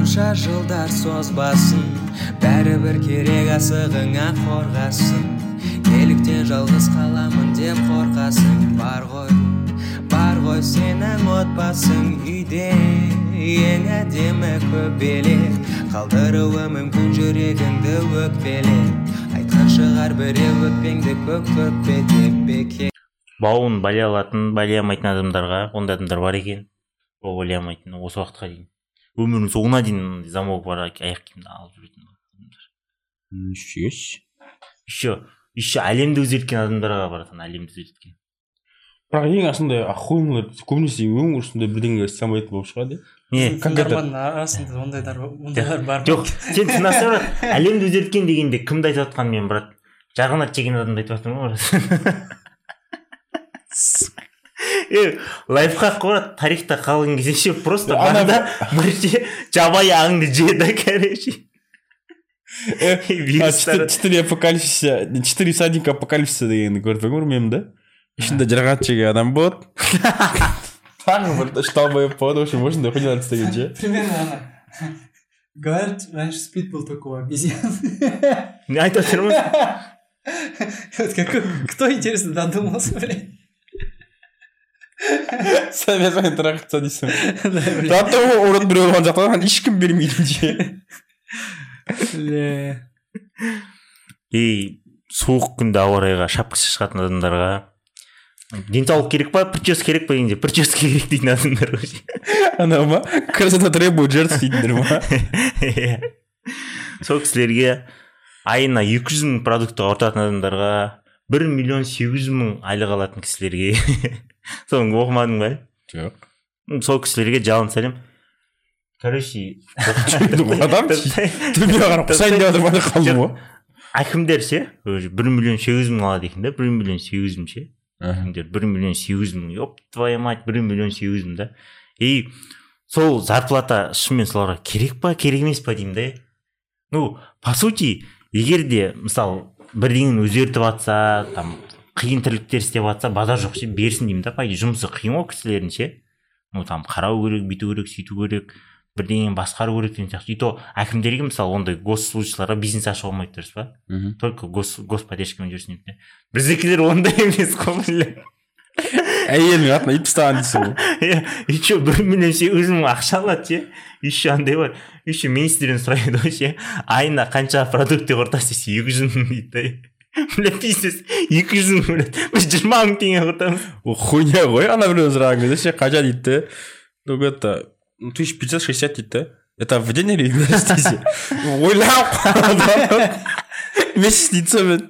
қанша жылдар созбасын, бәрібір керек асығыңа қорғасын. Неліктен жалғыз қаламын деп қорқасың? Бар ғой сенің отбасың үйде, ең әдемі көбелек. Қалдыруы мүмкін жүрегіңді өкпелеп, айтқан шығар біреу өкпеңді көкпе деп бекер. Бауын байлай алатын, байлай алмайтын адамдарға, ондай адамдар бар екен. Ол байлай алмайтын, осы уақытқа дейін. Өмірінің соңына дейін замок бар, аяқ киімді алып жүретін адамдар. Еще әлемді өзгерткен адамдарға баратын, әлемді өзгерткен. Бірақ ең асындай охуенлер көбінесе өмір үстінде бірдеңе істемейтін болып шығады. Тыңдарманның арасында ондайлар бар. Жоқ, сен тыңдасаң, әлемді өзгерткен дегенде кімді айтып жатқан мен, брат? Жарғанат чеген адамды айтып жатырмын ғой. Лайфхак қой, тарихта қалған кезде просто банда бірінші жабайы аңды жеді, короче. 4 апокалипсиса, 4 всадника апокалипсиса дегенді көріп өмір мем да? Ішінде жарғат жеген адам болады. Тағы бір штабы болады, вообще можно хуйнялар істеген ше. Примерно ана. Говорят, раньше спит был только у обезьян. Не айтып отырмын. Кто, интересно, додумался, блядь? Совет трахаться дейсің. Зато орын біреу болған жақтан ешкім бермейді ше. Суық күнде ауа райға шапкасы шығатын адамдарға денсаулық керек па, прическа керек па дегенде прическа керек дейтін адамдар. Анау ма? Красота требует жертв дейтіндер ма? Сол кісілерге айына 200 мың продукты ортатын адамдарға 1 миллион 800 мың айлық алатын кісілерге соны оқымадың ба? Жоқ. Сол кісілерге жалын сәлем. Короче, адам төбе қарап құсайын деп отырмады қалды ма? Әкімдер ше 1 миллион 800 мың алады екен да, 1 миллион 800 мың ше. Әкімдер 1 миллион 800 мың, ёп твоя мать, 1 миллион 800 мың да. И сол зарплата шынымен соларға керек па, керек емес па деймін да. Ну, по сути, егер де мысалы бірдеңені өзгертіп атса, там қиын тірліктер істеп атса, базар жоқ ше, берсін деймін да. Пайда жұмысы қиын ғой кісілердің ше. Ну, там қарау керек, бүйту керек, сөйту керек, бірдеңені басқару керек деген сияқты. И то әкімдерге мысалы ондай госслужащийларға бизнес ашуға болмайды дұрыс па? Только господдержкамен жүрсін дейді. Біздікілер ондай емес қой, бля. Әйелің атына ит тастаған дейсің ғой. Еще 1 миллион 800 мың ақша алады ше. Еще андай бар. Еще министрден сұрайды ғой ше. Айына қанша продукты құртасыз десе 200 мың дейді. Бля, пиздец, 200 мың, бля. Біз 20 мың теңге құртамыз. О, хуйня ғой, ана біреу сұраған кезде ше, қанша дейді. Ну, это 1560 дейді. Это в день или в месяц десе. Ойлап месяц дейсі мен.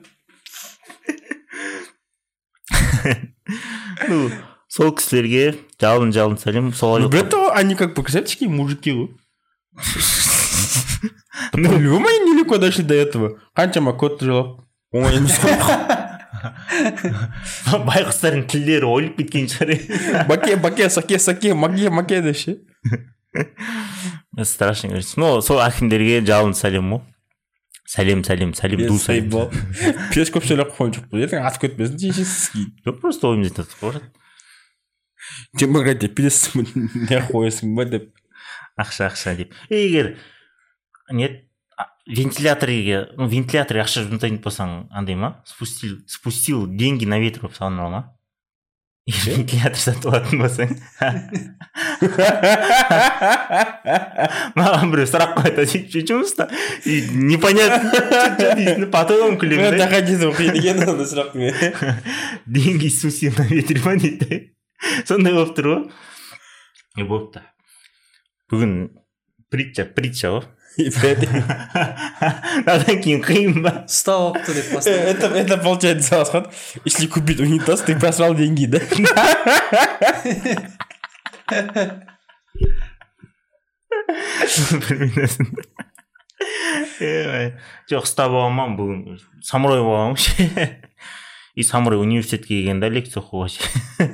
Ну, сол кісілерге жалын сәлем. Бля, они как показательские мужики ғой. По-любому они нелегко дошли до этого. Қаншама кодты жылап. Оңай емес қой. Байқұстардың тілдері ойылып кеткен шығар. Баке, саке, маке деші. Страшно говорится. Ну, сол әкімдерге жалын сәлем ғой. Сәлем, ду сәлем. Пес көп сөйлеп қойын жоқ бұл. Ертең атып кетпесін дейші. Жоқ, просто ойымыз етіп қойын. Демократия пилесің не қойысың ба деп. Ақша деп. Егер вентиляторға ақша жұмсайтын болсаң андай ма? Спустил деньги на ветер болып салыныр ма? Вентилятор сатып алатын болсаң. Маған біреу сұрақ қойды, жұмыста непонятно, потом күлемін. Тақадезім қиын екен онда сұрақ. Деньги спустил на ветер ма дейді. Сондай болып тұр ғой. Не болыпты. Бүгін притча ғой. Надан кейін қиын ба? Ұстап алыпты деп бастады. Это получается асхат. Если купить унитаз, ты просрал деньги, да? Жоқ, ұстап алғанмын бүгін. Самурай болғанмын ше. И самурай университетке келгенде лекция оқуға ше.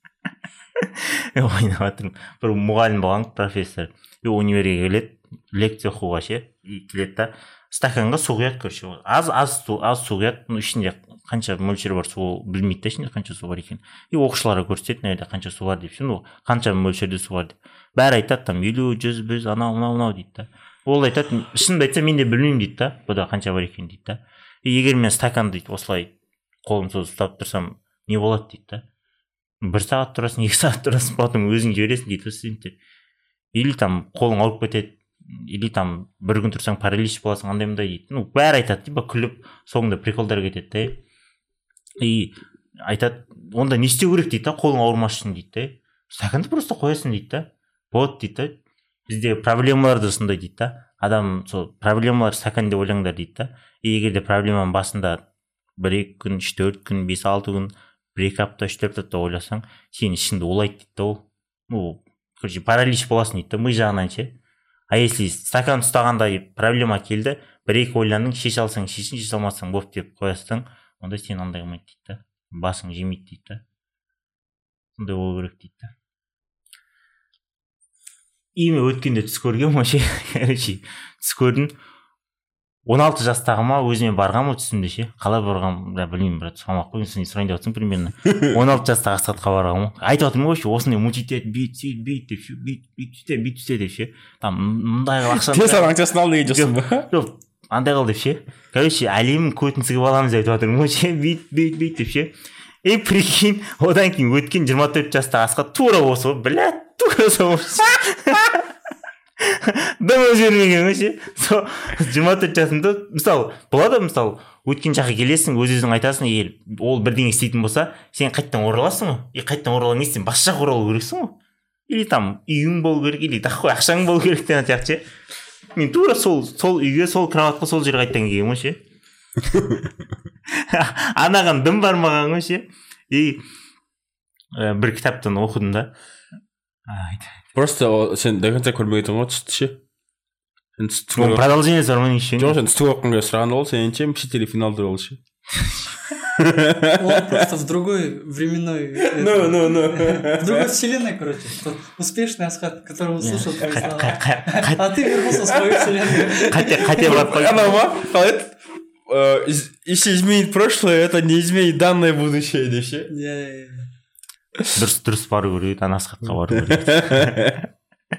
Ойнап жатырмын. Бір мұғалім болған, профессор. Универге келеді, лекция оқуға ше. Келеді да, стаканға су құяды, короче. Аз су құяды, ішінде қанша мөлшері бар су білмейді да ішінде қанша су бар екенін. И оқушыларға көрсетеді мына жерде қанша су бар деп ше, қанша мөлшерде су бар деп. Бәрі айтады там 50, 100, 100 анау дейді да. Ол айтады, шынымды айтса мен де білмеймін дейді да, бұда қанша бар екенін дейді да. Егер мен стакан дейді осылай қолым созып ұстап тұрсам не болады дейді да. 1 сағат тұрасың, 2 сағат тұрасың, потом өзің жібересің дейді студенттер. Или там қолың ауырып кетеді, или там бір күн тұрсаң паралич боласың, андай мындай дейді. Бәрі айтады, типа күліп, соңында приколдар кетеді да. И айтады, онда не істеу керек дейді да, қолың ауырмас үшін дейді да. Стаканды просто қоясың дейді да. Вот дейді да. Бізде проблемалар да сондай дейді да. Адам сол проблемалар стакан деп ойлаңдар дейді да. Егер де проблеманың басында 1-2 күн, 3-4 күн, 5-6 күн, 1-2 апта, 3-4 апта ойласаң, сен ішіңді улайды дейді да ол. Короче, паралич боласың дейді да, ми жағынан ше. А если стакан ұстағанда проблема келді, 1-2 ойландың, шеше алсаң шешін, шеше алмасаң боп деп қоясың, онда сен андай қылмайды дейді да. Басың жемейді дейді да. Сондай болу керек дейді да. Име өткенде түс көргем ше. Короче, түс көрдім. 16 жастағы ма, өзіме барғам түсімде ше. Қалай барғам, білмеймін, брат, сұрамақ қойын, сен сұрайын деп отырсың примерно. 16 жастағы Асхатқа барғам. Айтып отырмын ғой ше, осындай мучитель бейт деп ше, бейт деп ше. Там мындай ақшаны. Тез аңшасын ал деген жоқсың ба? Жоқ, андай қыл деп ше. Короче, әлемнің көтін сығып аламыз деп отырмын ғой ше, бейт деп ше. Прикинь, одан кейін өткен 24 жастағы Асхат тура осы ғой, блядь, тура сол. Дым өзгермеген ғой ше. 24 жасында, мысалы, болады мысалы, өткен жаққа келесің, өз-өзің айтасың, егер ол бірдеңе істейтін болса, сен қайттан ораласың ғой. Қайттан оралған не сен басқа жаққа оралу керексің ғой. Или там үйің болу керек, или тақой ақшаң болу керек деген сияқты ше. Мен тура сол үйге, сол кроватқа, сол жерге қайттан келгенмін ғой ше. Анаған дым бармаған ғой ше. И бір кітаптан оқыдым да. Просто сен до конца көрмеген ғой түсті ше. Продолжение сұрман еще. Жоқ, сен түсті оққанға сұраған ол, сенше мстители финал туралы ше. Он просто в другой временной... В другой вселенной, короче. Тот успешный Асхат, которого слушал твои слова. А ты вернулся в свою вселенную. Хотя бы... Она ма? Если изменить прошлое, это не изменит данное будущее, да ше? Дұрыс бару керек, Асхатқа бару керек.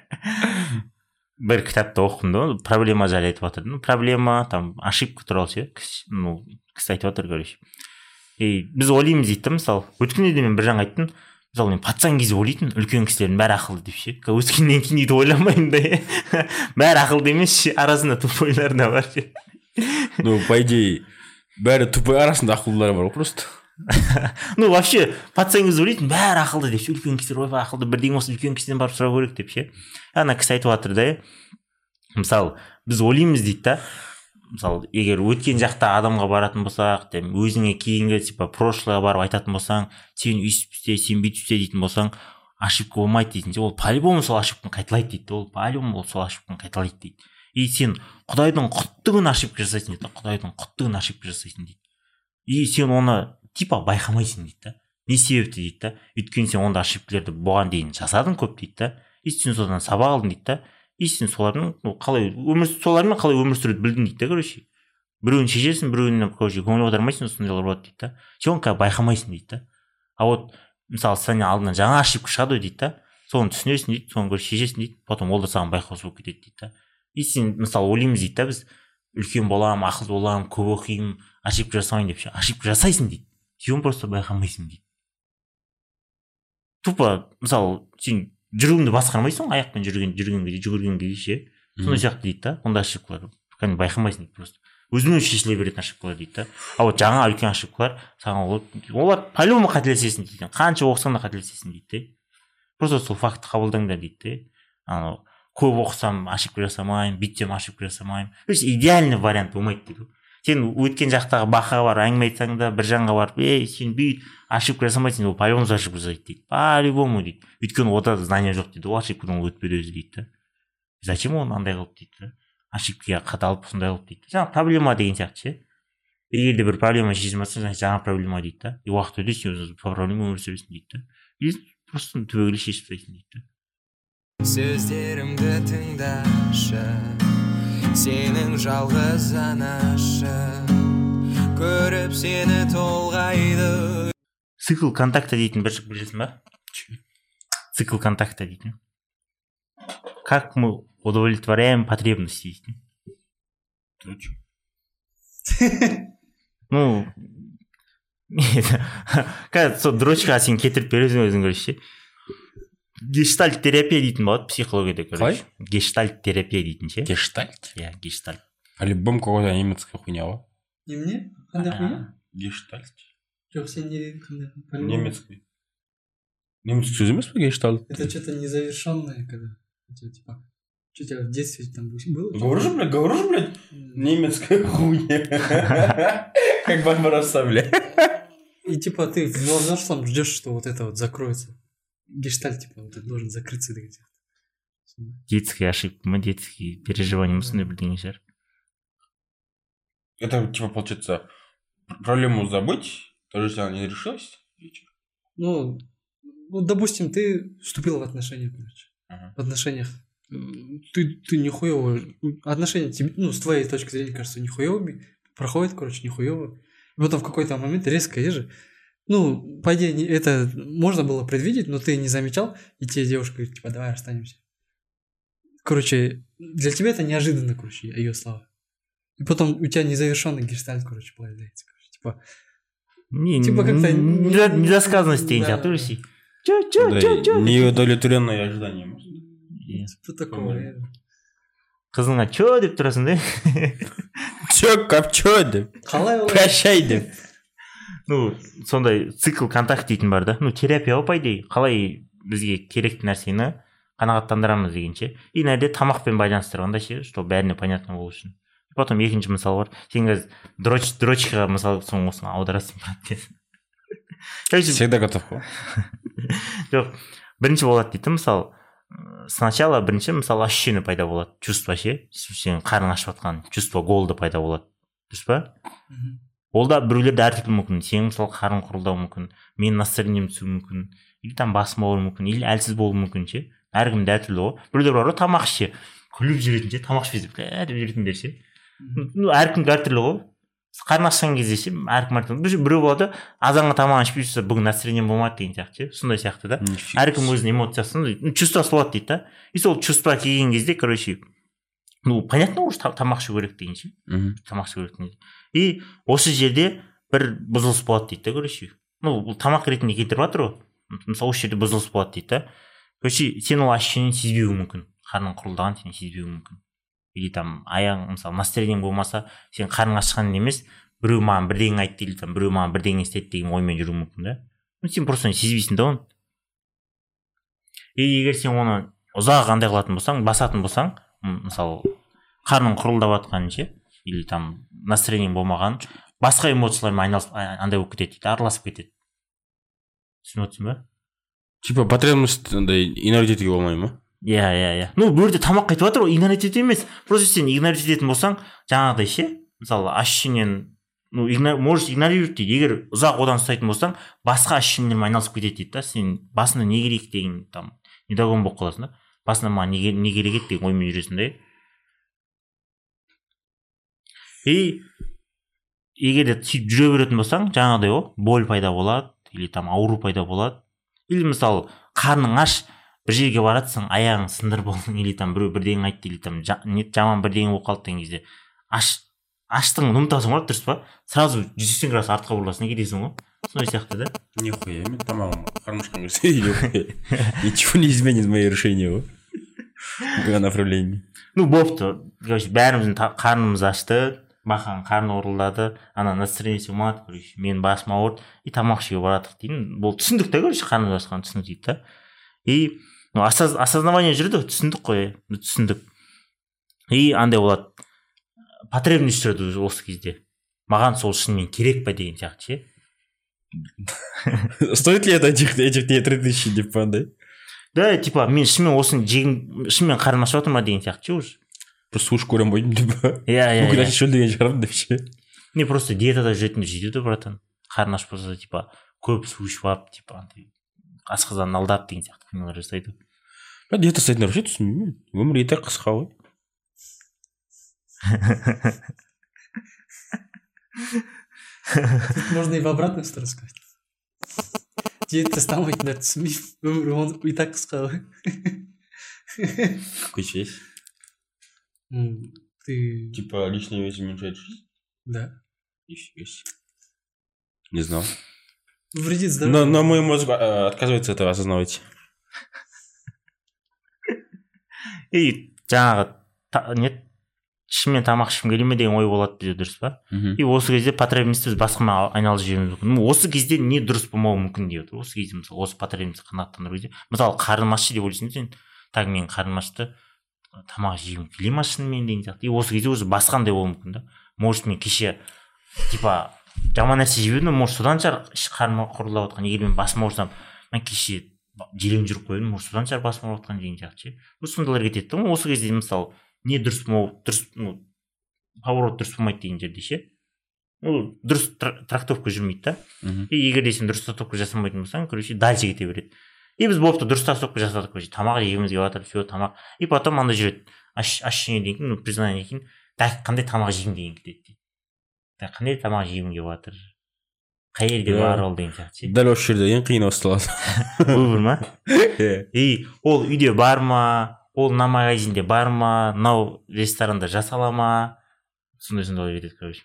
Бір кітапты оқыдым да, проблема жайлы айтып жатыр. Проблема, там, ошибка туралы ше. Кісі айтып жатыр, короче. Біз ойлаймыз дейді, мысалы, өткенде де мен бір жаңа айттым, мысалы, мен пацан кезде ойлайтын, үлкен кісілердің бәрі ақылды деп ше. Өткеннен кейін үйді ойламаймын да. Бәрі ақылды емес ше, арасында тупойлар да бар ше. По идее, бәрі тупой арасында ақылдылар бар, просто. Вообще, пацан кезде ойлайтын, бәрі ақылды деп ше, үлкен кісілер ойбай ақылды, бірдеңе осы үлкен кісіден барып сұрау керек деп ше. Ана кісі айтып жатыр да, мысалы, біз ойлаймыз дейді да, мысалы, егер өткен жақта адамға баратын болсақ, өзіңе кейінгі типа прошлыға барып айтатын болсаң, сен өйстіп істе, сен бүйтіп істе дейтін болсаң, ошибка болмайды дейтін. Ол по-любому сол ошибканы қайталайды дейді. Ол по-любому сол ошибканы қайталайды дейді. И сен Құдайдың құттығын ошибка жасайсың дейді. Құдайдың құттығын ошибка жасайсың дейді. И сен оны типа байқамайсың дейді да. Не себепті дейді да. Өйткені сен онда ошибкаларды бұған дейін жасадың көп дейді да. И сен содан сабақ алдың дейді да. И сен солармен қалай өмір сүруді білдің дейді да, короче. Біреуін шешесің, біреуіне, короче, көңіл аудармайсың, сондайлар болады дейді да. Сен оны байқамайсың дейді да. А вот, мысалы, сен алдынан жаңа ошибка шығады дейді да. Соны түсінесің дейді, соны көріп шешесің дейді, потом ол да саған байқаусыз болып кетеді дейді да. И сен, мысалы, ойлаймыз дейді да, біз үлкен боламын, ақылды боламын, көп оқимын, ошибка жасамайын деп ше. Ошибка жасайсың дейді. Сен просто байқамайсың дейді. Тупо, мысалы, сен жүргенді басқармайсың, аяқпен жүгіргенге ше. Сондай сияқты дейді да. Онда ошибкалар байқамайсың дейді просто. Өзімен шешіле беретін ошибкалар дейді да. А вот жаңа үлкен ошибкалар саған олар по-любому қателесесің дейді. Қанша оқысаң да қателесесің дейді. Просто сол факты қабылдаңдар дейді. Анау көп оқысам ошибка жасамаймын, бүйтсем ошибка жасамаймын. То есть идеальный вариант болмайды дейді. Сен өткен жақтағы бақаға барып әңгіме айтсаң да, бір жанға барып, сен бүйт ошибка жасамайсың, ол по-любому ошибка жасайды дейді. По-любому дейді. Өйткені ода знания жоқ дейді. Ол ошибкадан өтпеді өзі дейді. Зачем оны андай қылып дейді. Ошибкаға қадалып сондай қылып дейді. Жаңа проблема деген сияқты ше. Егер де бір проблема шешілмесе, жаңа проблема дейді. И уақыт өте сен по проблема өмір сүресің дейді. И просто түбегейлі шешіп тастайсың дейді. Сөздерімді тыңдашы, сенің жалғыз анашы, көріп сені толғайды. Цикл контакта дейтін бір жік білесің ба? Цикл контакта дейтін. Как мы удовлетворяем потребности дейтін. Ну, қазір сол дрочка сен кетіріп бересің өзің короче. Гештальт терапия дейтін болады психологияда, короче. Гештальт терапия дейтін ше. Гештальт? Иә, гештальт. По-любому какой-то немецкая хуйня ғой. Немене? Қандай хуйня? Гештальт. Жоқ, сен не дедің қандай? Немецкий. Немецкий сөз емес пе гештальт? Это что-то незавершенное, когда у тебя типа... Что у тебя в детстве там было? Говорю же, блядь, немецкая хуйня. Как Барбаросса, блядь. И типа ты в взрослом ждешь, что вот это вот закроется. Гештальт, типа, вот это должен закрыться. Детские ошибки, мы детские переживания, мы сондай бірдеңе шығар. Это типа получается проблему забыть, то же самое не решилось? Ну, допустим, ты вступил в отношения, короче. В отношениях. Ты нихуево... Отношения тебе, ну, с твоей точки зрения, кажется, нихуевыми. Проходит, короче, нихуево. И потом в какой-то момент резко ежи. Ну, по идее, это можно было предвидеть, но ты не замечал, и тебе девушка говорит, типа, давай расстанемся. Короче, для тебя это неожиданно, короче, ее слова. И потом у тебя незавершенный гештальт, короче, появляется. Короче, типа как-то... Недосказанность деген сияқты өрсей. Чё? Неудовлетворенное ожидание. Что такое? Қызыңа чё деп тұрасың да? Чё, кап чё деп? Прощай деп. Ну, сондай цикл контакт дейтін бар да. Ну, терапия ғой, по идее. Қалай бізге керекті нәрсені қанағаттандырамыз дегенше. И нәрде тамақпен байланыстырғанда ше, что бәріне понятно болу үшін. Потом екінші мысал бар. Сен қазір дрочкаға мысал соң осыны аударасың брат. Всегда готов қой. Жоқ, бірінші болады дейді, мысалы, сначала бірінші, мысалы, ощущение пайда болады, чувство ше, сен қарның ашып жатқан чувство голода пайда болады. Дұрыс па? Ол да біреулерде әртүрлі мүмкін. Сен мысалы қарың құрылдау мүмкін, мен настроением түсуі мүмкін, или там басым ауыру мүмкін, или әлсіз болуы мүмкін ше. Әркімде әртүрлі ғой. Біреулер бар ғой, тамақ ше, күліп жүретін ше, тамақ ішпей деп жүретіндер ше. Ну, әркімге әртүрлі ғой. Қарны ашқан кезде ше, әркім әртүрлі. Біреу болады, азанға тамағын ішпей жүрсе, бүгін настроением болмады деген сияқты ше. Сондай сияқты да. Әркім өзінің эмоциясын, чувствосы болады дейді да. И сол чувство келген кезде, короче, ну, понятно уже тамақ ішу керек деген ше. Тамақ ішу керек деген. И осы жерде бір бұзылыс болады дейді да, короче. Ну, бұл тамақ ретінде кетіріп жатыр ғой. Мысалы, осы жерде бұзылыс болады дейді да. Короче, сен ол ощущениені сезбеуі мүмкін. Қарның құрылдаған сен сезбеуі мүмкін. Или там аяғың, мысалы, настроениең болмаса, сен қарның ашқан емес, біреу маған бірдеңе айтты, или там біреу маған бірдеңе істеді деген оймен жүруі мүмкін да. Ну, сен просто сезбейсің да оны. И егер сен оны ұзақ андай қылатын болсаң, басатын болсаң, мысалы, қарның құрылдап жатқан ше, или там настроениең болмаған, басқа эмоциялармен айналысып, андай болып кетеді дейді, араласып кетеді. Түсініп отырсың ба? Типа потребность андай игнорить етуге болмай ма? Иә. Ну, бұл жерде тамақ қайтып жатыр ғой, игнорить ету емес. Просто сен игнорить ететін болсаң, жаңағыдай ше, мысалы, ощущениен, ну, можешь игнорировать дейді. Егер ұзақ одан ұстайтын болсаң, басқа ощущениелермен айналысып кетеді дейді да. Сен басында не керек деген там недогон болып қаласың да. Басында маған не керек еді деген оймен жүресің да. И егер де сөйтіп жүре беретін болсаң, жаңағыдай ғой, боль пайда болады, или там ауру пайда болады. Или мысалы, қарның аш, бір жерге баратсың, аяғың сындыр болдың, или там біреу бірдеңе айтты, или там жаман бірдеңе болып қалды деген кезде, аштың ұмытасың ғой, дұрыс па? Сразу 180 градус артқа бұрыласың, кетесің ғой. Сондай сияқты да? Нихуя, мен тамағым қарным ашқан кезде, ничего не изменит мои решения ғой. В направлении. Ну, бопты. Бәріміздің қарнымыз ашты, бақан қарны орылдады, ана настроение болмады, короче, мен басым ауырды, и тамақ ішуге барадық деймін. Бұл түсіндік та, короче, қарнымыз ашқан түсіндік дейді да. И осознавание жүреді, түсіндік қой, түсіндік. И андай болады, потребность жүреді осы кезде. Маған сол шынымен керек па деген сияқты ше. Стоит ли это этих 3000 деп па андай? Да, типа, мен шынымен осыны шынымен қарным ашып жатыр ма деген сияқты ше уже. Просто уж көрем бойдым деп па? Иә. Мүмкін әші шөлдеген шығармын деп ше. Не, просто диетада жүретінде жетеді, братан. Қарны ашып болса, типа, көп су ішіп алып, типа, асқазанын алдап деген сияқты қимылдар жасайды. Диета жасайтындар вообще түсінбеймін. Өмір еті қысқа ғой. Тут можно и в обратную сторону сказать. Диет тастамайтындар түсінбеймін. Өмір оны и так қысқа ғой. Какой честь? Ты... Типа личные вещи уменьшают жизнь? Да. Не знал. Вредит здоровью. Но мой мозг отказывается этого осознавать. И жаңағы не шынымен тамақ ішкім келе ме деген ой болады бізде, дұрыс па? И осы кезде потребностьті біз басқамен айналып жіберуіміз мүмкін. Осы кезде не дұрыс болмауы мүмкін деп отыр. Осы кезде мысалы осы потребностьті қанағаттандыру кезде мысалы қарным ашты деп ойлайсың сен, так менің қарным ашты, тамақ жегім келе ма шынымен деген сияқты. И осы кезде уже басқандай болуы мүмкін да. Может мен кеше типа жаман нәрсе жеп едім, может содан шығар қарным құрылдап отқан. Егер мен басым ауырсам, мен кеше желең жүріп қойдым, может содан шығар басым ауырып отқан деген сияқты ше. Сондайлар кетеді да. Осы кезде мысалы не дұрыс болмау, дұрыс, поворот дұрыс болмайды деген жерде ше. Дұрыс трактовка жүрмейді да. И егер де сен дұрыс трактовка жасамайтын болсаң, короче, дальше кете береді. И біз болыпты дұрыс трактовка жасадық, короче, тамақ жегіміз келіп жатыр, все тамақ. И потом анда жүреді. Ощущение деген кейін, признание кейін, так қандай тамақ жегім деген кетеді. Так қандай тамақ жегім келіп жатыр. Қай елге бар ол деген сияқты ше. Дәл осы жерде ең қиын осы талас. Выбор ма? И ол үйде бар ма? Ол мына магазинде бар ма, мынау ресторанда жасала ма, сондай кетеді, короче.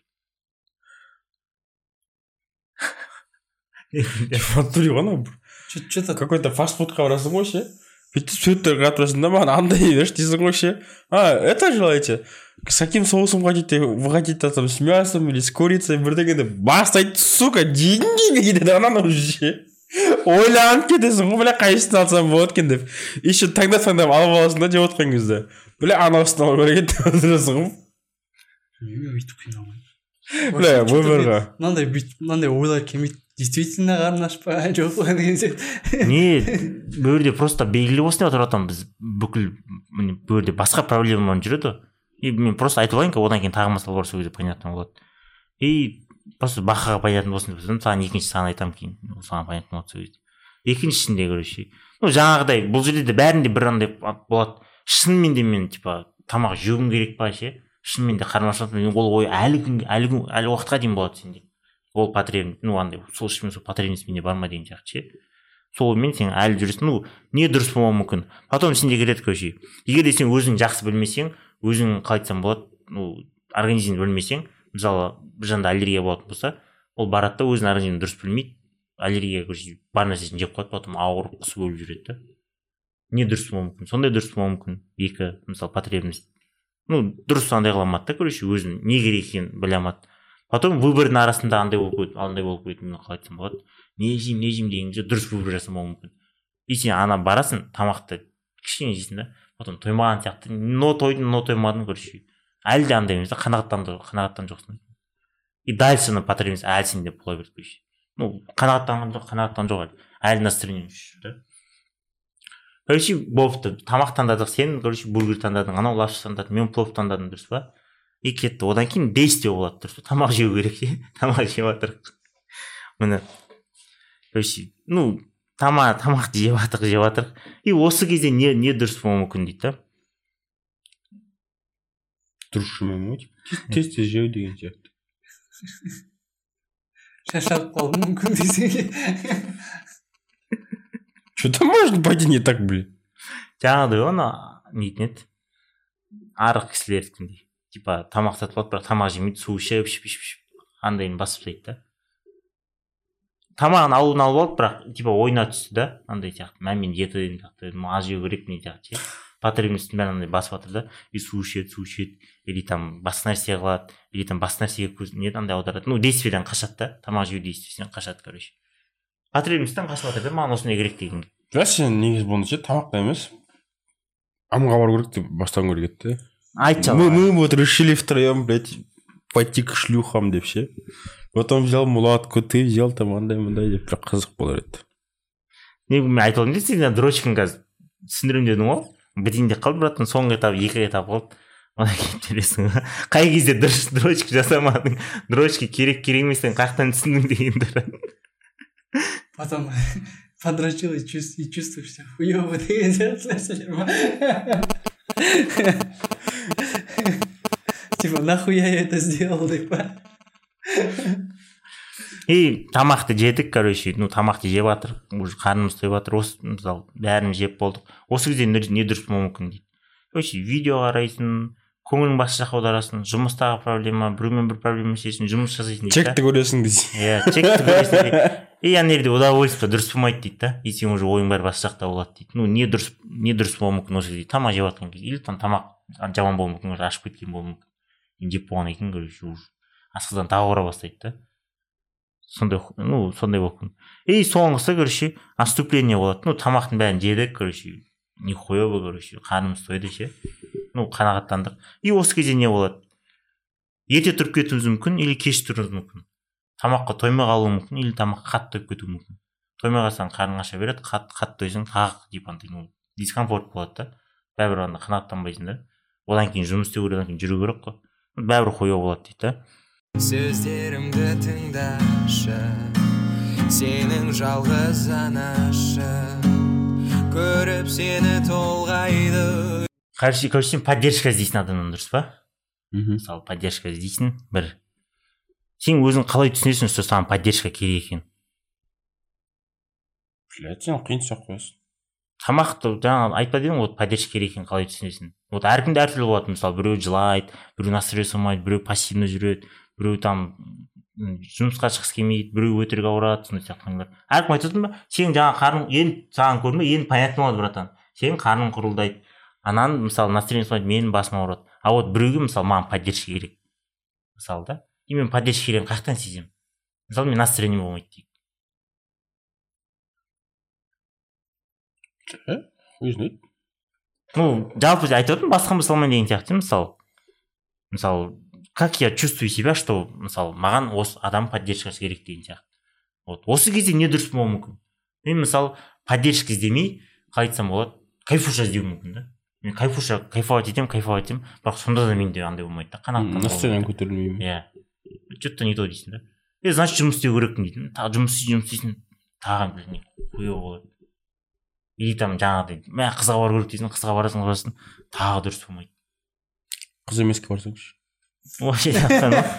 Фантури ғана Что-то какой-то фастфудқа барасың ғой ше. Бүйтіп суреттерге қарап тұрасың да, маған андай берші дейсің ғой ше. Это желаете? С каким соусом хотите? Вы хотите там с мясом или с курицей? Бірдеңе деп бастайды, сука, деньги кетеді ананы уже ше. Ойланып кетесің ғой, бля, қайсысын алсам болады екен деп. Еще таңдап алып аласың да жеп отқан кезде. Бля, анауысын алу керек деп отырасың ғой. өйтіп қиналмайды. Бля, өмірға. Мынандай ойлар келмейді. Действительно қарны аш па жоқ па деген сияқты. Не, бұл жерде просто белгілі болсын деп отыратын біз бүкіл бұл жерде басқа проблемамен жүреді. И мен просто айтып алайын, одан кейін тағы мысал бар, сол кезде понятно болады. И просто бақаға понятно болсын деп тұрсам, саған екінші саған айтамын кейін, саған понятно болады сол кезде. Екіншісінде, короче, жаңағыдай бұл жерде де бәрінде бір андай болады. Шынымен де мен типа тамақ жеуім керек па ше? Шынымен де қарным ашады, ол ой әлі уақытқа дейін болады сенде. Ол потребность, андай сол ішімен сол потребность менде бар ма деген сияқты ше. Солмен сен әлі жүресің, не дұрыс болмауы мүмкін. Потом сенде келеді, короче. Егер де сен өзің жақсы білмесең, өзің қалай айтсам болады, организмді білмесең, мысалы бір жанда аллергия болатын болса, ол барады да өзінің организмін дұрыс білмейді, аллергия короче бар нәрсесін жеп қояды, потом ауырып құсып өліп жүреді да. Не дұрыс болмауы мүмкін, сондай дұрыс болмауы мүмкін. Екі, мысалы потребность. Дұрыс андай қыла алмады да, короче, өзін не керек екенін біле алмады. Потом выбордың арасында андай болып қойды, андай болып қойды, қалай айтсам болады. Не жеймін дегенде дұрыс выбор жасамауы мүмкін. И сен ана барасың, тамақты кішкене жейсің да, потом тоймаған сияқты, но тойдың, но тоймадың, короче. Әлі де андай емес та, қанағаттан жоқсың. И дальше потребность әлі сенде бола берді, короче. Қанағаттан жоқ әлі настроение жүр да. Короче, болыпты, тамақ таңдадық, сен, короче, бургер таңдадың, анау лапша таңдадың, мен плов таңдадым, дұрыс па? И кетті, одан кейін действие болады, дұрыс па? Тамақ жеу керек ше, тамақ жеп жатырық. Міне, короче, тамақты жеп жатырық. И осы кезде не дұрыс болуы мүмкін дейді да? Дұрыс жемеу, тез жеу деген сияқты. Шаршап қалуы мүмкін десең. Что-то может пойти не так, блин. Жаңағыдай оны нетін еді, арық кісілердікіндей. Типа тамақ сатып алады, бірақ тамақ жемейді, су ішіп, андайын басып тастайды да. Тамағын алып алды, бірақ типа ойына түсті да, андай сияқты, мен диета деген сияқты, аз жеу керек не сияқты ше. Потребностьтің бәрін андай басып жатыр да, и су ішеді, или там басқа нәрсе қылады, или там басқа нәрсеге көз не андай аударады. Действиеден қашады да, тамақ жеу действиесінен қашады, короче. Потребностьтен қашып жатыр да, маған осындай керек деген. Сен негізі бұны ше, тамақта емес, амға бару керек деп бастан керек еді. Айтшы. Мы вот решили втроем, блядь, пойти к шлюхам деп ше. Потом взял мулатку, ты взял там андай деп бір қызық болар еді. Мен айтып алдым дейді, сен дрочкін қазір түсіндірем дедің ғой. Бітінде қалды, братан, соңғы этап, екі этап қалды. Ona келіп жүресің. Қай кезде дұрыс дрочка жасамадың, дрочка керек еместен қаяқтан түсіндің дегендер. Потом подрочил и чувствуешь себя хуёво деген нәрселер ма? Типа, нахуй я это сделал, деп па? И тамақты жедік, короче, ну тамақты жеп жатыр, уже қарнымыз тойып жатыр, осы мысалы бәрін жеп болдық. Осы кезде не дұрыс болуы мүмкін дейді. Короче, видео қарайсың, көңілің басқа жаққа аударасың, жұмыстағы проблема, біреумен бір проблема шешесің, жұмыс жасайсың дейді. Чекті көресің дейсің. Иә, чекті көресің дейді. И ана жерде удовольствие дұрыс болмайды дейді да. И сен уже ойың бәрі басқа жақта болады дейді. Ну не дұрыс болуы мүмкін осы кезде тамақ жеп жатқан кезде, или тамақ жаман болуы мүмкін, уже ашып кеткен болуы мүмкін. Жеп болғаннан кейін, короче, уже асқазан тағы ауыра бастайды да. Сондай болып күн. И соңғысы, короче, отступление болады. Ну тамақтың бәрін жедік, короче, нихуя бы, короче, қарнымыз тойды ше. Ну қанағаттандық. И осы кезде не болады? Ерте тұрып кетуіміз мүмкін, или кеш тұруымыз мүмкін. Тамаққа тоймай қалуы мүмкін, или тамаққа қатты тойып кетуі мүмкін. Тоймай қалсаң қарның аша береді, қатты тойсаң тағы дискомфорт болады да. Бәрібір анда қанағаттанбайсың да. Одан кейін жұмыс істеу керек, одан кейін жүру керек қой. Бәрібір қоя болады дейді да. Сөздерімді тыңдашы, сенің жалғыз анашы, көріп сені толғайды. Короче, сен поддержка іздейсің адамнан, дұрыс па? Мысалы, поддержка іздейсің, бір. Сен өзің қалай түсінесің, что саған поддержка керек екен? Блядь, сен қиын сұрақ қоясың. Тамақты жаңа айтпа дедің, вот поддержка керек екенін қалай түсінесің? Вот әркімде әртүрлі болады, мысалы, біреу жылайды, біреу настроение болмайды, біреу пассивно жүреді, біреу там жұмысқа шыққысы келмейді, біреу өтірік ауырады, сондай сияқтылар. Әркім айтатын ба? Сен жаңа қарның енді саған көрме, енді понятно болады, братан. Сен қарның құрылдайды. Анан мысалы настроение болмайды, менің басым ауырады. А вот біреуге мысалы маған поддержка керек. Мысалы да. И мен поддержка керегін қаяқтан сеземін? Мысалы мен настроение болмайды дейді. Өзіне. Ну, жалпы айтып отырмын, басқа мысалмен деген сияқты, мысалы, как я чувствую себя, что, мысалы, маған осы адам поддержкасы керек деген сияқты. Вот, осы кезде не дұрыс болуы мүмкін? Мен, мысалы, поддержка іздемей, қалай айтсам болады, кайфуша іздеу мүмкін да. Мен кайфовать етемін, бірақ сонда да менде андай болмайды да, қанағаттанбай. Настроением көтерілмеймін. Иә. Что-то не то дейсің да. Значит, жұмыс істеу керекпін дейтін. Тағы жұмыс істейсің, тағы не қоя болады. И там жаңағыдай, мә қызға бару керек дейсің, қызға барасың, тағы дұрыс болмайды. Қыз емеске барсаңшы. Вообще жақтан ба?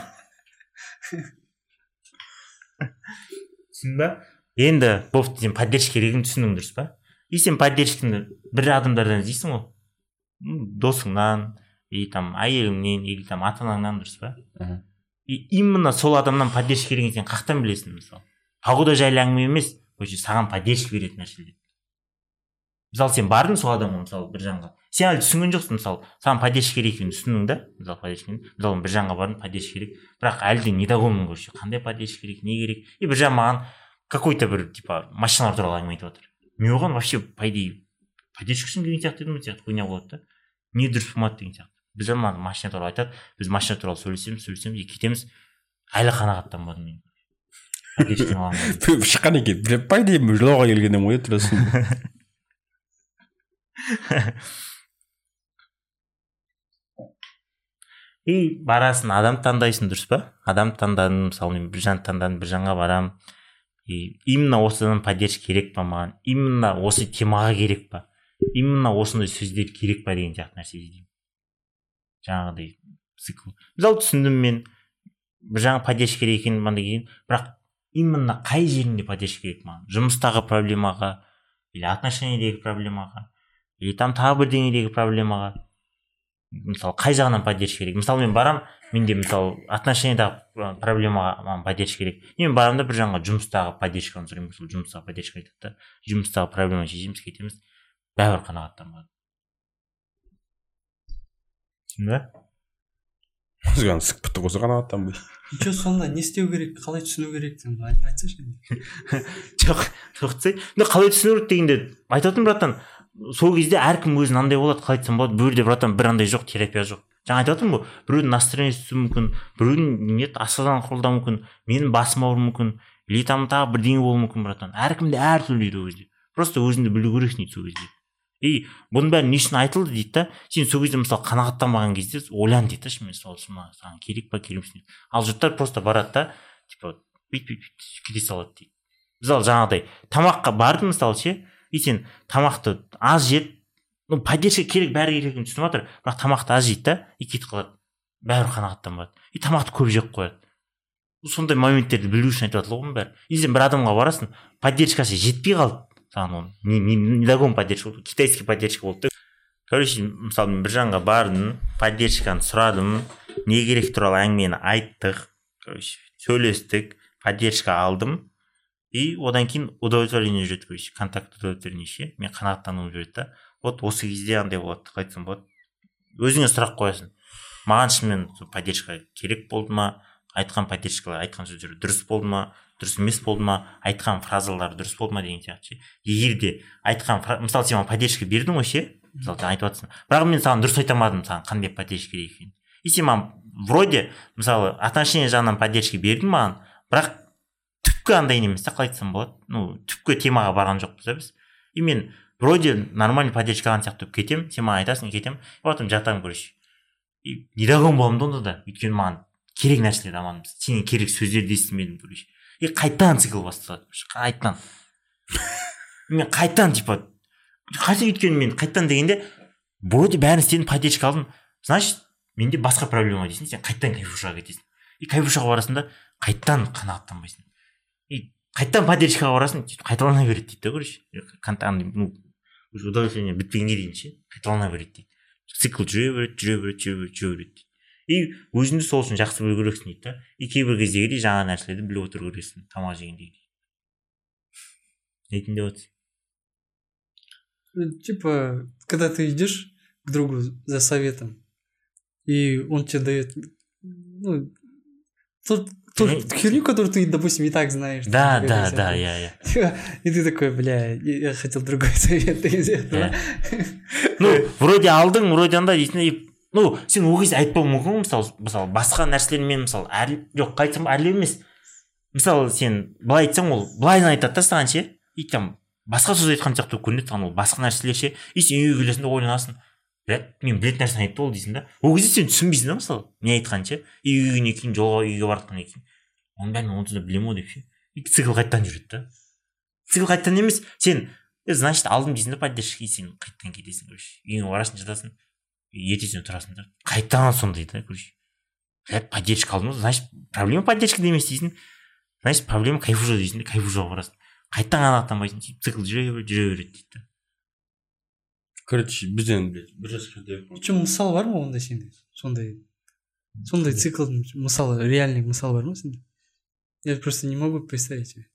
Түсін ба? Енді бофт сен поддержка керегін түсіндің, дұрыс па? И сен поддержканы бір адамдардан іздейсің ғой. Досыңнан, и там әйеліңнен, или там ата-анаңнан, дұрыс па? И именно сол адамнан поддержка керегін сен қақтан білесің, мысалы. Погода жайлы әңгіме емес, саған поддержка беретін нәрселер. Мысалы сен бардың сол адамға, мысалы бір жанға. Сен әлі түсінген жоқсың, мысалы, саған поддержка керек екенін түсіндің да, мысалы бір жанға бардың, поддержка керек, бірақ әлі де недовольмын, короче, қандай поддержка керек, не керек. И бір жан маған какой-то бір типа машиналар туралы әңгіме айтып отыр. Мен оған вообще по идее поддержка үшін деген сияқты едім, сияқты хуйня болады да. Не дұрыс болмады деген сияқты. Бір жан маған машина туралы айтады, біз машина туралы сөйлесеміз и кетеміз. Әлі қанағаттанбадым мен. Поддержка алған. Шыққан екен, по идее жылауға келгеннен ой тұрасың. И барасың, адам таңдайсың, дұрыс па? Адам таңдадым, мысалы мен бір жан таңдадым, бір жанға барам. И именно осыдан поддержка керек па маған? Именно осы темаға керек па? Именно осындай сөздер керек па деген сияқты нәрсе деймін. Жаңағыдай цикл. Мысалы түсіндім мен, бір жаңа поддержка керек екенін маған деген, бірақ именно қай жерінде поддержка керек маған? Жұмыстағы проблемаға, или отношениедегі проблемаға, или там тағы бірдеңедегі проблемаға. Мысалы қай жағынан поддержка керек? Мысалы мен барам, менде мысалы отношениедағы проблемаға маған поддержка керек. Мен барам да бір жаңға жұмыстағы поддержканы сұраймын, сол жұмыстағы поддержка айтады да, жұмыстағы проблема шешеміз, кетеміз, бәрібір қанағаттанбады. Түсіндің ба? Саған сық бітті қоса қанағаттанбай. Че сонда не істеу керек, қалай түсіну керек деп айтсайшы енді. Жоқ, қалай түсіну керек дегенде айтатын, братан, сол кезде әркім өзін андай болады, қалай айтсам болады, бір жерде братан бір андай жоқ, терапия жоқ. Жаңа айтып отырмын ғой, біреудің настроениесі мүмкін, біреудің асқазан құрылдауы мүмкін, менің басым ауыруы мүмкін, или там тағы бірдеңе болуы мүмкін, братан. Әркімде әртүрлі дейді ол кезде. Просто өзіңді білу керексің дейді сол кезде. И бұның бәрі не үшін айтылды дейді да, сен сол кезде мысалы қанағаттанбаған кезде ойлан дейді да, шынымен сол саған керек па, керек емес. Ал жұрттар просто барады да, типа кете салады дейді. Мысалы жаңағыдай тамаққа барды мысалы ше, и сен тамақты аз жеп, ну поддержка керек, бәрі керегін түсініп жатыр, бірақ тамақты аз жейді да, и кетіп қалады, бәрі қанағаттанбады. И тамақты көп жеп қояды. сондай моменттерді білу үшін айтып жатыр ғой бәрі. И сен бір адамға барасың, поддержкасы жетпей қалды саған оның. Недогон поддержка болды, китайский поддержка болды. Короче, мысалы мен бір жанға бардым, поддержканы сұрадым, не керек туралы әңгімені айттық, короче, сөйлестік, поддержка алдым. И одан кейін удовлетворение жүреді, короче, контакт удовлетворение ше. Мен қанағаттануым жүреді да. Вот осы кезде андай болады, қайтсам болады. Өзіңе сұрақ қоясың. Маған шынымен поддержка керек болды ма? Айтқан поддержкалар, айтқан сөздер дұрыс болды ма, дұрыс емес болды ма, айтқан фразалар дұрыс болды ма деген сияқты ше. Егер де айтқан, мысалы сен маған поддержка бердің ғой ше, мысалы сен айтып жатрсың. Бірақ мен саған дұрыс айта алмадым, саған қандай поддержка керек екенін. И сен маған вроде, мысалы, отношение жағынан поддержка бердің маған, бірақ түпкі андай емес та, қалай айтсам болады. Ну, түпкі темаға барған жоқпыз да біз. И мен вроде нормальный поддержка алған сияқты кетем, сен маған айтасың, кетем, и потом жатамын, короче. И недогон боламын да онда да, өйткені маған керек нәрселер аманбыз. Сенен керек сөздерді естімедім, короче. И қайтадан цикл басталады. Қайтадан. Мен қайтадан, типа, қайсы өйткені мен қайтадан дегенде, вроде бәрін істедім, поддержка алдым. Значит, менде басқа проблема дейсің, сен қайтадан кайфушаға кетесің. И кайфушаға барасың да, қайтадан қанағаттанбайсың. И қайтадан поддержкаға барасың, қайталана береді дейді, короче. Ну, удовлетворение бітпегенге дейін ше, қайталана береді дейді. Цикл жүре береді. И өзіңді сол үшін жақсы білу керексің дейді да. И кейбір кездегідей жаңа нәрселерді біліп отыру керексің, тамақ жегендегідей. Дейтін деп отырсың. Типа, когда ты идешь к другу за советом, и он тебе дает, ну, ту херню, которую ты, допустим, и так знаешь. Да, я. И ты такой, бля, я хотел другой совет из этого. Ну, вроде алдың, вроде анда дейсің. Ну, сен ол кезде айтпауың мүмкін, мысалы, басқа нәрселермен, мысалы, жоқ, қайтсам әрлеу емес. Мысалы, сен былай айтсаң, ол былайын айтады да саған ше, и там басқа сөз айтқан сияқты көрінеді саған, ол басқа нәрселер ше, и сен үйге келесің де ойланасың, мен білетін нәрсені айтты ол дейсің да. Ол кезде сен түсінбейсің да, мысалы, не айтқан ше, и үйге кейін жолға үйге баратқаннан кейін, оның бәрін онсыз да білемін ғой деп ше, и цикл қайтадан жүреді да. Цикл қайтадан емес, сен, значит, алдым дейсің да поддержка, сен қайтадан кетесің, короче, үйіңе барасың, жатасың. Ертесіне тұрасың да, қайтадан сондай да, короче. Поддержка алдым, значит, проблема поддержка емес дейсің, значит, проблема кайфужа дейсің де, кайфужаға барасың. Қайтадан қанағаттанбайсың, цикл жүре береді дейді. Короче, бізден, блядь, бір жас кезде. Причем мысал бар ма ондай сенде? Сондай циклдың мысалы, реальный мысал бар ма сенде? Я просто не могу представить себе.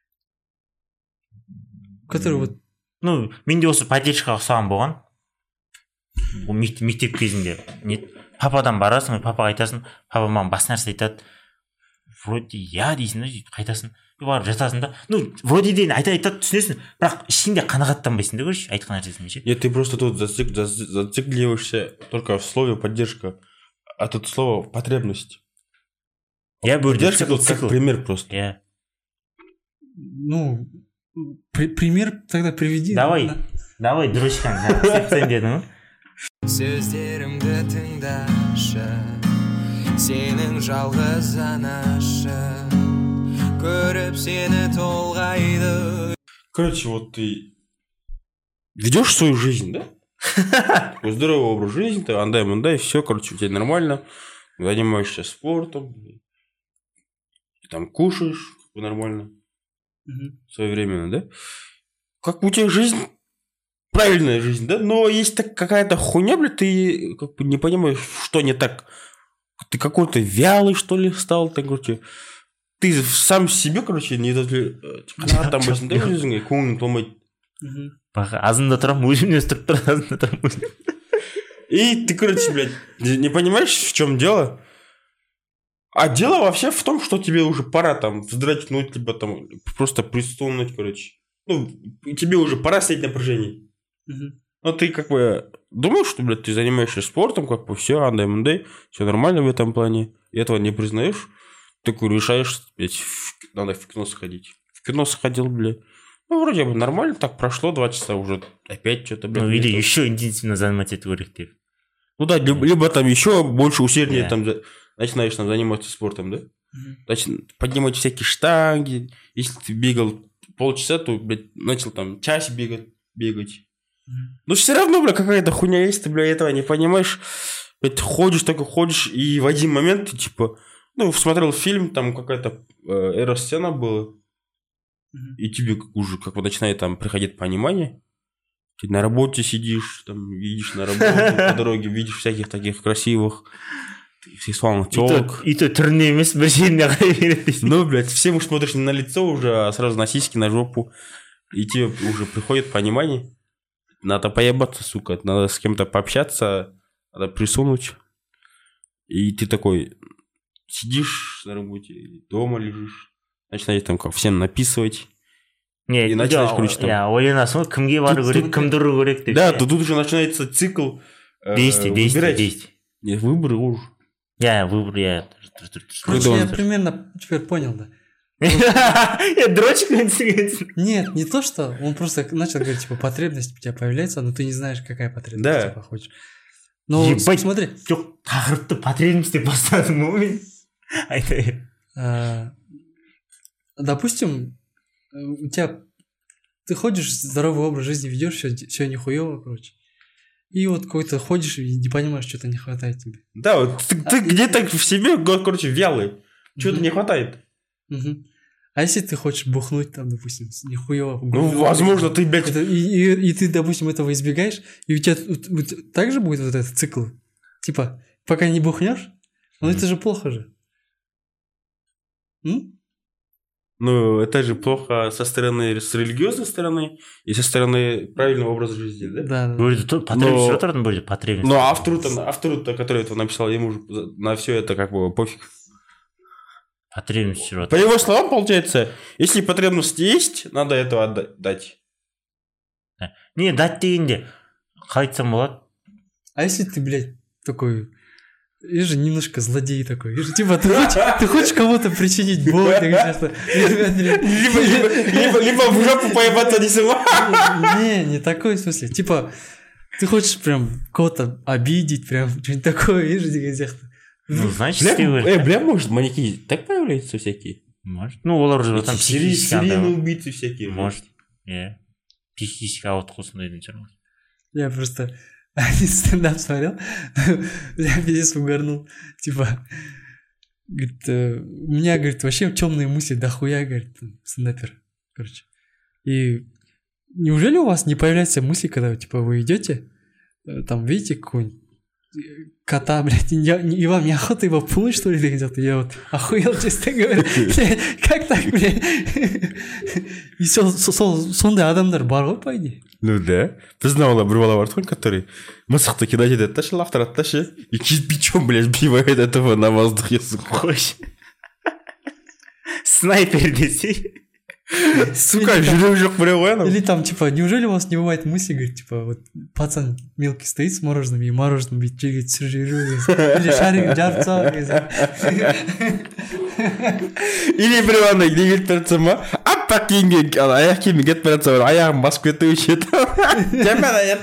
Который вот... Ну, менде осы поддержкаға ұқсаған болған. Мектеп кезінде пападан барасың, папаға айтасың, папа маған бас нәрсе айтады, вроде я дейсің да, қайтасың, барып жатасың да, ну вроде дейін айтады түсінесің, бірақ ішінде қанағаттанбайсың да, короче, айтқан нәрсесімен ше. Нет, ты просто тут зацикливаешься только в слове поддержка, а тут слово потребность. Я поддержка тут как пример просто. Я. Ну, пример тогда приведи. Давай, дурачкаң, сен дедің. Сөздерімді тыңдашы, сенің жалғыз анашы, көріп сені толғайды. Короче, вот ты ведешь свою жизнь, да? Такой здоровый образ жизни, ты андай-мандай, все, короче, у тебя нормально, занимаешься спортом, там кушаешь нормально, своевременно, да? Как у тебя жизнь... Правильная жизнь, да? Но есть какая-то хуйня, блядь, ты как бы не понимаешь, что не так. Ты какой-то вялый, что ли, стал, ты, короче. Ты сам себе, короче, не там басында өзіңе көңілің толмайды. Азында тұрамын, өзімнен өстіріп тұр, азында тұрамын. И ты, короче, блядь, не понимаешь, в чем дело? А дело вообще в том, что тебе уже пора там вздрачнуть, либо там просто присунуть, короче. Ну, тебе уже пора снять напряжение. Но ты как бы думаешь, что, блядь, ты занимаешься спортом, как бы все, андай-мандай, все нормально в этом плане, и этого не признаешь, такой решаешь, блядь, надо в кино сходить. В кино сходил, блядь. Ну, вроде бы нормально, так прошло 2 часа, уже опять что-то, блядь. Ну, или еще интенсивно заниматься керек. Ну да, либо там еще больше усерднее там начинаешь там заниматься спортом, да? Значит, поднимать всякие штанги, если ты бегал полчаса, то, блядь, начал там час бегать. Но все равно, бля, какая-то хуйня есть, ты, бля, этого не понимаешь. Блядь, ходишь, и в один момент ты, типа, Ну, смотрел фильм, там какая-то эро-сцена была, и тебе уже как бы начинает там приходить понимание. Ты на работе сидишь, там, видишь на работу по дороге, видишь всяких таких красивых, сексуальных телок. И то түріне емес, бір жеріне қарай береді дейсің. Ну, блядь, всем уж смотришь не на лицо уже, а сразу на сиськи, на жопу. И тебе уже приходит понимание. Надо поебаться, сука, надо с кем-то пообщаться, надо присунуть. И ты такой сидишь на работе, дома лежишь, начинаешь там как всем написывать. Не, и начинаешь крутить там. Ойланасың ғой, кімге бару керек, кімді ұру керек деп. Да, тут уже начинается цикл действий. Нет, выборы уже. Выбор, Короче, я примерно теперь понял, да. Дрочек? Нет, не то, что он просто начал говорить, типа, потребность у тебя появляется, но ты не знаешь, какая потребность типа хочешь. Ну, смотри. Жоқ, тақырыпты потребность деп бастадым ғой мен. Айтайын. Допустим, у тебя ты ходишь, здоровый образ жизни ведешь, все нихуево, короче. И вот какой-то ходишь и не понимаешь, что-то не хватает тебе. Да, вот ты где-то в себе, короче, вялый. Чего-то не хватает. А если ты хочешь бухнуть там, допустим, нихуево. Ну, возможно, ты, блядь... И ты, допустим, этого избегаешь, и у тебя так же будет вот этот цикл. Типа, пока не бухнешь, ну это же плохо же. Ну, это же плохо с религиозной стороны и со стороны правильного образа жизни, да? Да. Потребность будет потребность. Но автору-то, который это написал, ему же на все это как бы пофиг. Потребность. По его словам, получается, если потребность есть, надо этого отдать. Не, дать дегенде қалай айтсам болады. А если ты, блядь, такой... И же немножко злодей такой. И же, типа, ты хочешь кому-то причинить боль. Либо в жопу поебаться не сама. Не такой в смысле. Типа, ты хочешь прям кого-то обидеть, прям что-нибудь такое. И же, ну, значит, бля, может, маньяки так появляются всякие? Может. Ну, олар же там серийные убийцы всякие. Может. Психический ауытқу сондайдың шығар. Я просто... Один стендап смотрел, я пиздец угорнул. Типа, говорит, у меня, говорит, вообще темные мысли дохуя, говорит, стендапер. Короче. И неужели у вас не появляются мысли, когда, типа, вы идете, там, видите какого-нибудь кота, блядь, и вам неохота его пнуть, что ли, где-то? Я вот охуел, честно говоря. Как так, блядь? И сондай адамдар бар ғой, по идее. Ну да. Біздің ауылда бір бала бар ғой, который мысықты кидать етеді да, лақтырады да ше, и кирпичом, блядь, сбивает этого на воздухе, сука. Снайпер десей. Сука, жүрек жоқ біреу ғой анау. Или там, типа, неужели у вас не бывает мысли, говорит, типа, вот пацан мелкий стоит с мороженым, и мороженым бит жерге түсіріп жіберу, или шарик жарып тастау. Или біреу андай не кетіп бара жатса ма, аппақ киімге аяқ киіммен кетіп бара жатса, аяғын басып кетті өші еді. Жаман аяқ.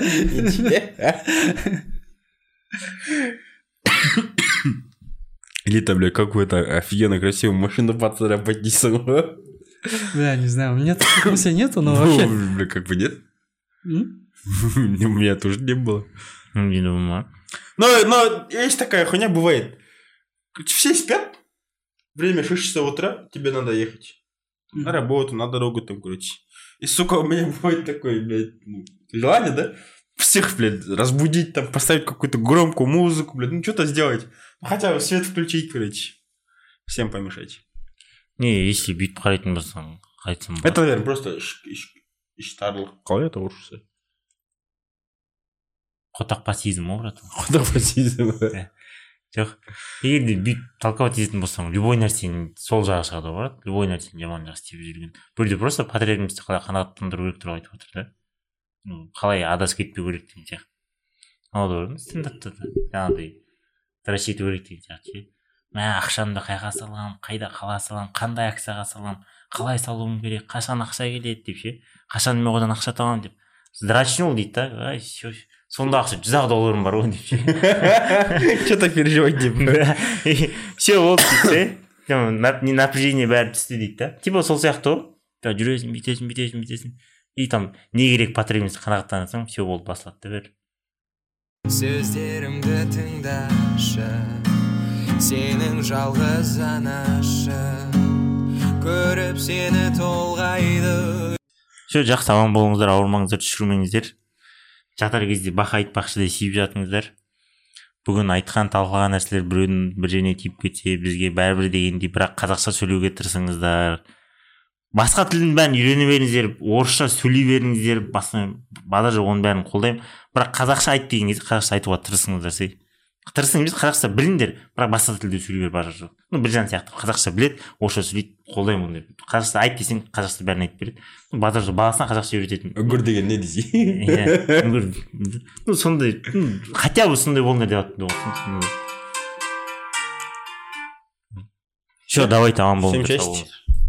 Или там, бля, какую-то офигенно красивую машину поцарапать дейсің ғой. Бля, не знаю, у меня таких мыслей нету, но вообще... Ну, бля, как бы нет. У меня тоже не было. Не думаю. Но есть такая хуйня, бывает. Все спят, время 6 часов утра, тебе надо ехать. На работу, на дорогу там, короче. И, сука, у меня бывает такое, блядь, желание, да? Всех, блядь, разбудить, там, поставить какую-то громкую музыку, блядь, ну, что-то сделать. Хотя бы свет включить, короче. Всем помешать. Не, если бүйтіп қарайтын болсаң, қайтсам это, наверное, просто іштарлық. Қалай это орысша? Хотақпасизм ғой, брат. Хотақпасизм. Жоқ, егер де бүйтіп толковать ететін болсаң, любой нәрсенің сол жағы шығады ғой, брат. Любой нәрсенің жаман жағы істеп жүрген. Бұл жерде просто потребностьті қалай қанағаттандыру керек туралы айтып отыр да. Қалай адасып кетпеу керек деген сияқты. Ал да стендапта да жаңағыдай трэш ету керек деген сияқты. Мә, ақшамды қайға салам, қайда қала салам, қандай акцияға салам, қалай салуым керек, қашан ақша келеді деп ше, қашан мен одан ақша табамын деп. Здрачнул дейді да, ай, сонда ақша $100 бар ғой деп ше. Что-то переживать деп. Все болды дейді ше, напряжение бәрі түсті дейді да. Типа сол сияқты ғой, жүресің, бүйтесің. И там не керек потребность қанағаттансаң, все болды, басылады да бәрі. Сөздерімді тыңдашы, сенің жалғыз анашы көріп сені толғайды. Жақсы аман болыңыздар, ауырмаңыздар, түшірмеңіздер. Жатар кезде бақа айтпақшыдай сүйіп жатыңыздар. Бүгін айтқан талқылаған нәрселер біреудің бір жеріне тиіп кетсе бізге бәрібір дегендей, бірақ қазақша сөйлеуге тырысыңыздар. Басқа тілдің бәрін үйрене беріңіздер, орысша сөйлей беріңіздер, бада жоқ, оның бәрін қолдаймын. Бірақ қазақша айт деген кезде қазақша айтуға тырысыңыздар. Тырысыңыз, қазақша біліңдер, бірақ басқа тілде сөйлей бер, бада жоқ. Біржан сияқты қазақша біледі, орысша сөйлейді, қолдаймын ондай. Қазақша айт десең, қазақша бәрін айтып береді. Бада жоқ, баласына қазақша үйрететін. Үңгір деген не десе? Иә, үңгір. Сондай, хотя бы сондай болыңдар деп жатырмын. Все, давайте аман болыңдар.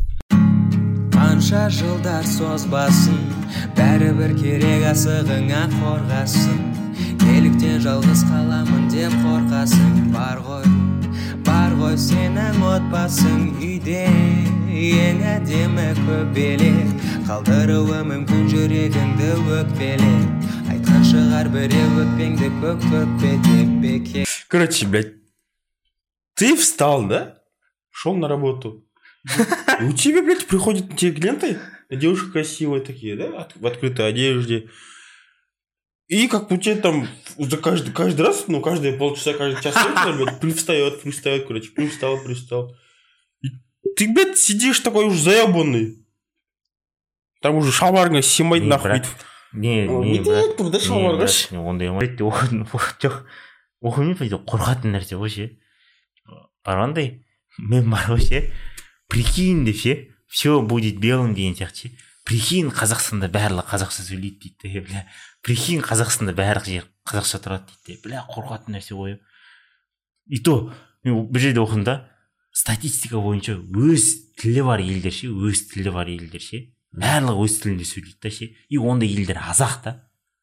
Қанша жылдар созбасын, бәрібір керек асығыңа қорғасын. Неліктен жалғыз қаламын деп қорқасың? Бар ғой сенің отбасың үйде, ең әдемі көбелек, қалдыруы мүмкін жүрегіңді өкпелеп. Айтқан шығар біреу өкпеңді көк деп бекер. Короче, блядь, ты встал, да? Шел на работу. У тебя, блядь, приходят те клиенты, девушки красивые такие, да, в открытой одежде. И как у тебя там каждый раз, каждые полчаса, каждый час, блядь, привстает, короче, привстал. И ты, блядь, сидишь такой уж заебанный. Там уже шалбарыңа симайды нахуй. Не, брат. Тұрда шалбарға ше. Ондай жоқ, оқымай қорқатын нәрсе ғой ше. Барғандай, мен бар ғой ше. Прикинь деп ше, все будет белым деген сияқты ше. Прикинь, Қазақстанда барлығы қазақша сөйлейді дейді, бля. Прикинь, Қазақстанда барлық жер қазақша тұрады дейді, бля, қорқатын нәрсе ғой. И то, мен бір жерде оқыдым да, статистика бойынша өз тілі бар елдер ше, барлығы өз тілінде сөйлейді да ше. И ондай елдер азақ та.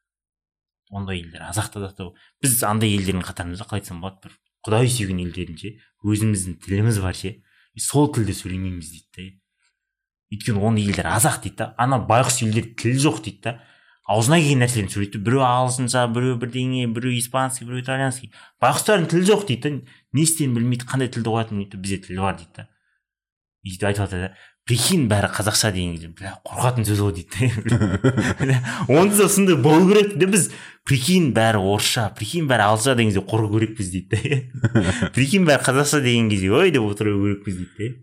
Біз андай елдердің қатарымызда қалай айтсам болады, бір Құдай сүйген елдердің ше, өзіміздің тіліміз бар ше. Сол тілде сөйлемейміз дейді да. Өйткені ондай елдер азақ дейді да. Ана байғұс елдер тіл жоқ дейді да. Аузына келген нәрселерін сөйлейді. Біреу ағылшынша, біреу бірдеңе, біреу испанский, біреу итальянский. Байғұстардың тілі жоқ дейді да. Не істерін білмейді, қандай тілді қоятынын дейді. Бізде тіл бар дейді да. Өйтіп айтып жатыр да. Прикинь, бәрі қазақша деген кезде, бля, қорқатын сөз ғой дейді. Онда да сондай болу керек дейді. Біз прикинь, бәрі орысша, прикинь, бәрі ағылшынша деген кезде қорқу керекпіз дейді. Прикинь, бәрі қазақша деген кезде, ой деп отыру керекпіз дейді.